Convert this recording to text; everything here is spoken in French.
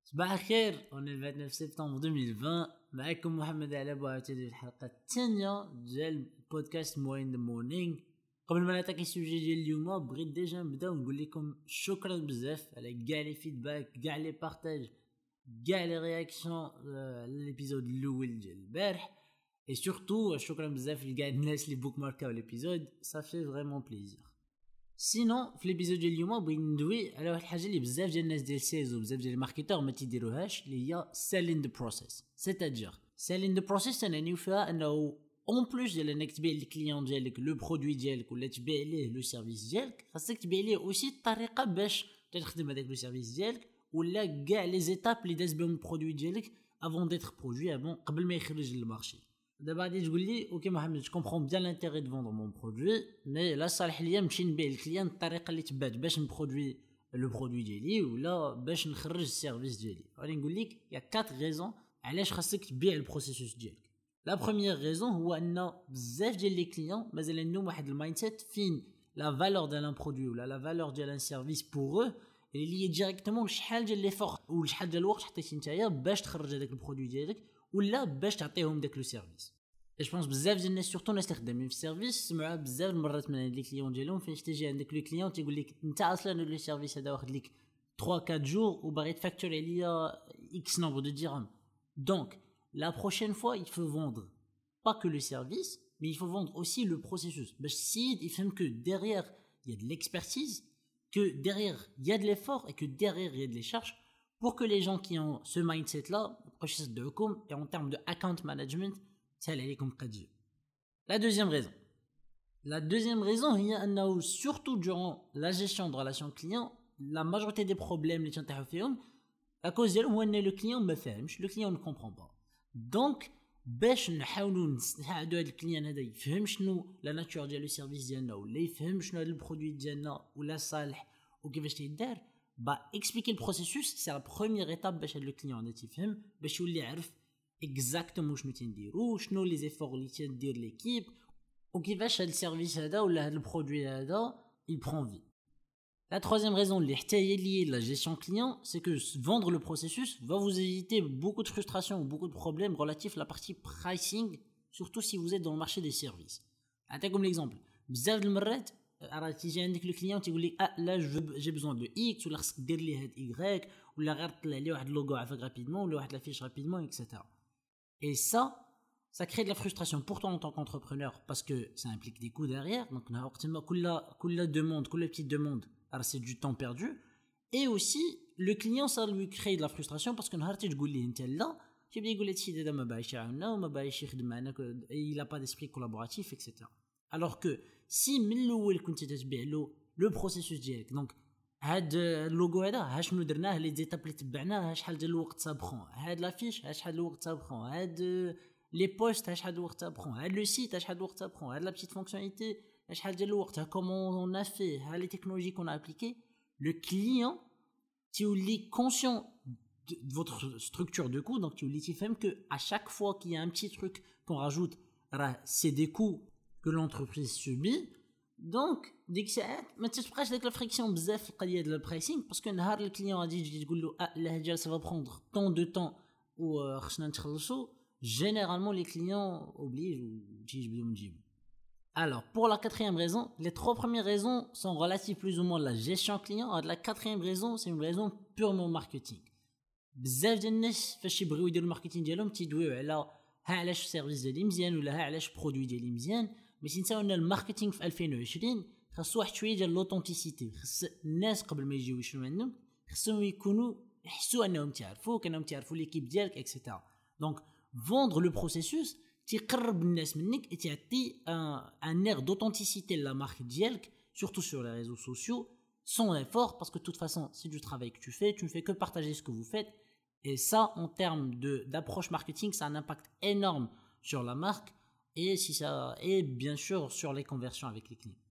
صباح الخير، on est le 29 سبتمبر 2020. معكم محمد علاب وعاوتاني في الحلقة الثانية ديال بودكاست موين ذا مورنينغ. قبل ما نعطيك السوجي ديال اليوم بغيت ديجا نبدا ونقول لكم شكرا بزاف على كاع لي فيدباك، كاع لي بارطاج، كاع لي رياكسيون للابيزود الاول ديال البارح. اي سورتو شكرا بزاف لكاع الناس اللي بوك ماركاو الابيزود، صا في فريمون بليزير. سينون في ليبيزود ديال اليوم بغيت ندوي على واحد الحاجه اللي بزاف ديال الناس ديال سيلز وبزاف ديال الماركتور ما تيديروهاش، اللي هي سيلين ذا بروسيس. سيتادير سيلين ذا بروسيس تنعنيو فيها انه اون بلوس ديال انك تبيع للكليون ديالك لو برودوي ديالك ولا تبيع ليه لو سيرفيس ديالك، خاصك تبيع ليه اوسي الطريقه باش تخدم هذاك لو سيرفيس ديالك ولا كاع لي زيتاب اللي داز بهم البرودوي ديالك افون ديتر برودوي قبل ما يخرج للمارشي. دابا غادي تقول لي اوكي محمد، جو كومبرون بيان لانتيري دو فوندر مون برودوي، مي لا صالح ليا نمشي نبيع للكليان الطريقه اللي تبات باش نبرودوي لو برودوي ديالي ولا باش نخرج السيرفيس ديالي. غادي نقول لك يا 4 ريزون علاش خاصك تبيع البروسيسوس ديالك. لا بروميير ريزون هو ان بزاف ديال لي كليون مازال عندهم واحد المايند سيت فين لا فالور ديال ان برودوي ولا لا فالور ديال ان سيرفيس بور او اللي هي ديريكتومون شحال ديال لي فور وشحال ديال الوقت حطيتي نتايا باش تخرج هذاك البرودوي ديالك ولا باش تعطيهم داك لو سيرفيس. اش بونس بزاف ديال الناس سورتو الناس اللي خدامين في السيرفيس سمعوا بزاف المرات من لي كليون ديالهم فاش تجي عندك لو كليون تيقول لك انت اصلا لو سيرفيس هذا واخد لك 3 4 جور وباغي تفاكتوري عليا اكس نومبر دو درهم. دونك la prochaine fois il faut vendre pas que le service mais il faut vendre aussi le processus باش السيد يفهم que derrière il y a de l'expertise, que derrière il y a de l'effort et que derrière il y a de les charges pour que les gens qui ont ce mindset là proches de Hukum et en termes de account management سهل عليكم قدير. La deuxième raison هي أنه surtout durant la gestion de relations clients la majorité des problèmes اللي تنطيحوا فيهم à cause ديالهم هو أن le client ما فاهمش، le client ne comprend pas. donc باش نحاولوا نساعدوا هذا الكليان هذا يفهم شنو لا ناتور ديال لو سيرفيس ديالنا ولا يفهم شنو هذا البرودوي ديالنا ولا صالح وكيفاش تيدار، با اكسبليكي البروسيسوس سي لا بروميير ايتاب باش هذا الكليان هذا تيفهم باش يولي يعرف اكزاكتومون شنو تنديرو، شنو لي زيفور اللي تندير ليكيب وكيفاش هذا السيرفيس هذا ولا هذا البرودوي هذا يبرون في. La troisième raison liée à la gestion client, c'est que vendre le processus va vous éviter beaucoup de frustration ou beaucoup de problèmes relatifs à la partie pricing, surtout si vous êtes dans le marché des services. Comme l'exemple, بزاف المرات راه تيجي عندك لو كليون تيقول لك لا جي بزون دو اكس ولا خصك دير لي هاد ايغريك ولا غير طلع لي واحد اللوغو عافاك رابيدمون ولا واحد لافيش رابيدمون اكسيتيرا. Et ça crée de la frustration pour toi en tant qu'entrepreneur parce que ça implique des coûts derrière. Donc, la demande, la petite demande, alors c'est du temps perdu. Et aussi, le client, ça lui crée de la frustration parce que il n'a pas d'esprit collaboratif, etc. Alors que si le processus direct, donc هاد اللوغو هذا ها شنو درناه لي زيتاب اللي تبعناه، ها شحال ديال الوقت صابخون، هاد لافيش ها شحال الوقت صابخون، هاد لي بوست ها شحال الوقت صابخون، هاد لو سيت ها شحال الوقت صابخون، هاد لا بيتيت فونكسيوناليتي ها شحال ديال الوقت، ها كومون اون ا في، ها لي تكنولوجي كون ابليكي. لو كليون تيولي كونسيون de votre structure de coût, donc tu lui dis que à chaque fois qu'il y a un petit truc qu'on rajoute, c'est des coûts que l'entreprise subit. دونك ديك الساعات ما تتبقاش داك الفريكسيون بزاف في القضيه ديال البرايسينغ، باسكو نهار الكليون غادي تجي تقول له لا هاد جالسه فا بروندر طون دو طون وخصنا نتخلصوا، جينيرالمون لي كليون اوبليج وتيجبدوا من جيبهم. Alors pour la quatrième raison, les 3 premières raisons sont relatives plus ou moins à la gestion client. La quatrième raison, c'est une raison purement marketing. بزاف ديال الناس فاش يبغيو يديروا الماركتينغ ديالهم تيدويو على ها علاش السيرفيس ديالي مزيان ولا ها علاش البرودوي ديالي مزيان، مي تنساو ان الماركتينغ في 2020 خاصو واحد شويه ديال لوطونتيسيتي. خاص الناس قبل ما يجيو يشرو عندهم خاصهم يكونوا يحسوا انهم تعرفوك، انهم تعرفوا ليكيب ديالك اكسيتيرا. دونك فوندر لو بروسيسوس تيقرب الناس منك تعطي ان اير d'authenticité لا مارك ديالك surtout sur les réseaux sociaux sans effort, parce que de toute façon c'est du travail que tu ne fais que partager ce que vous faites. Et ça, en termes d'approche marketing, ça a un impact énorme sur la marque et bien sûr sur les conversions avec les clients.